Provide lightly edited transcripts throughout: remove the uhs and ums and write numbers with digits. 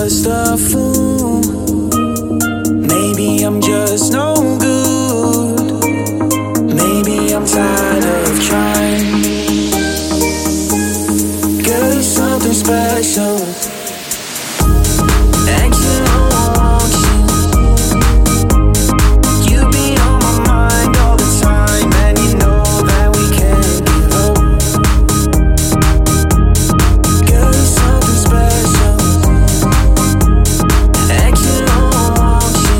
just a fool. Maybe I'm just no good. Maybe I'm tired of trying. Girl, you're something special. And you know I want you. You be on my mind all the time, and you know that we can't give up. Girl, you're something special. And you know I want you.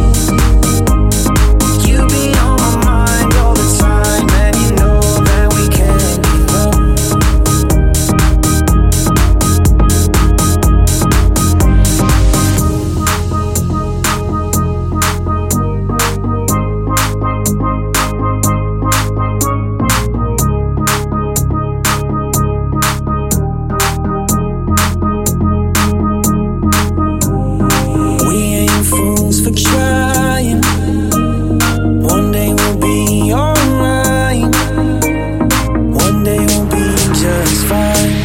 You be on my mind all the time, and you know that we can't give up. We ain't fools for trying. One day we'll be alright. One day we'll be just fine.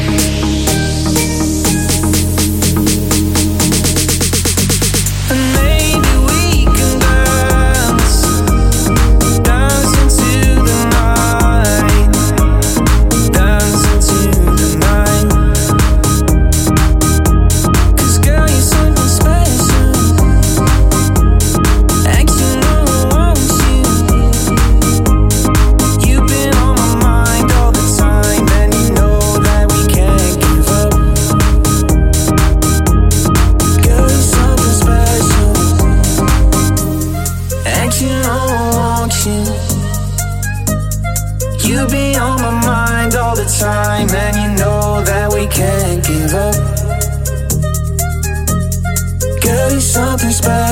And maybe we can dance, dance into the night, dance into the night. 'Cause girl, you're something special. And you know I want you. You've been on my mind all the time, and you know that we can't give up. Girl, you're something special. And you know I want you. You be on my mind all the time, and you know that we can't give up. Girl, you're something special.